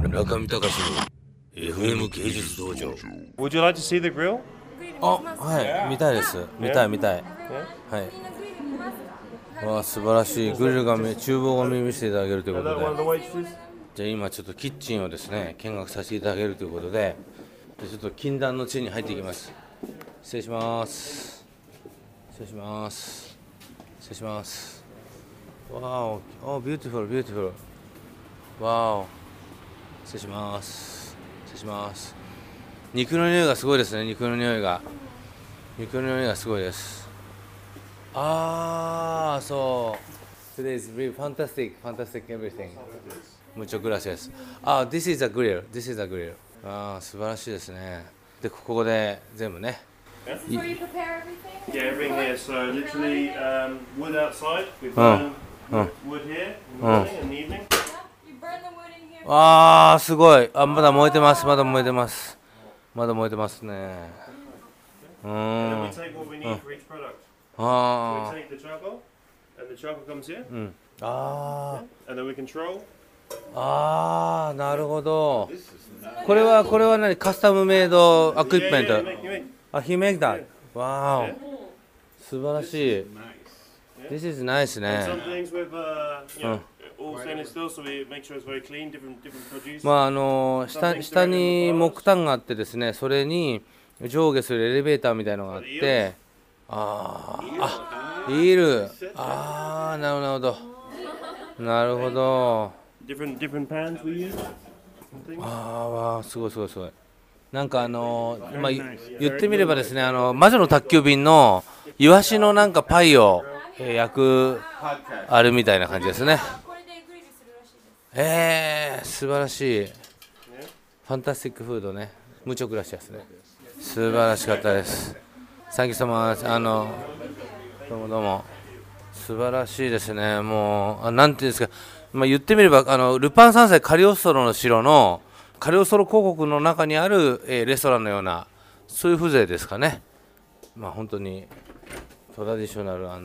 中見隆の FM 芸術道場。 Would you like to see the grill? あ、はい、見たいです。見たい。はい。 わあ、素晴らしい。グリルが厨房を見せていただけるということで、じゃあ今ちょっとキッチンをですね見学させていただけるということで、ちょっと禁断の地に入っていきます。失礼します。失礼します。失礼します。わお、ビューティフル、ビューティフル。わお、失礼します。失礼します。肉の匂いがすごいですね。肉の匂いがすごいです。ああ、そう。Today is really fantastic everything. Muchas gracias. This is a grill. This is a grill. 素晴らしいですね。で、ここで全部ね。 This is where you prepare everything? Yeah, everything here. So literally wood outside. We burn wood here in the morning and the evening. Yeah, you burn the wood in here. すごい。まだ燃えてます。まだ燃えてます。まだ燃えてますね。 And then we take what we need for each product. So we take the charcoal, and the charcoal comes here. And then we control. なるほど。これは何？カスタムメイドアクイプメント。He make that. Wow. 素晴らしい。This is nice ね。 Some things with all stainless steel, so we make sure it's very clean. Different produce. 下に木炭があってですね、それに上下するエレベーターみたいなのがあって、イール。なるほど。 Different pans we use. すごい。なんか言ってみればですね、魔女の宅急便のイワシのなんかパイを焼くあるみたいな感じですね。 これでグリルするらしいです。 素晴らしい。ファンタスティックフードね。ムチョグラシアスね。素晴らしかったです。サンキュー様。どうも。素晴らしいですね。もう、なんていうんですか。言ってみれば、ルパン三世カリオストロの城のカリオストロ公国の中にある、レストランのような、そういう風情ですかね。本当にトラディショナル&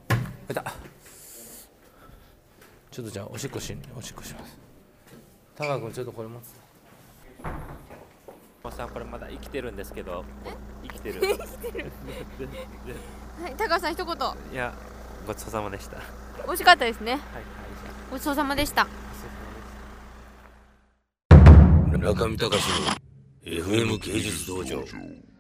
ちょっとじゃあおしっこします。タカ君ちょっとこれ持って。 さんこれまだ生きてるんですけど、生きてる。 はい、高橋さん一言。 いや、ごちそうさまでした。 美味しかったですね。ごちそうさまでした。 中見隆の FM 芸術道場。